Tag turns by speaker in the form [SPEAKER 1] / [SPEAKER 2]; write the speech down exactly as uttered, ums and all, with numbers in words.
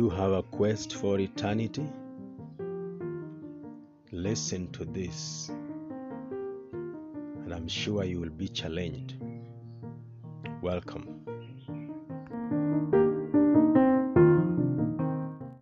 [SPEAKER 1] you have a quest for eternity? Listen to this, and I'm sure you will be challenged. Welcome.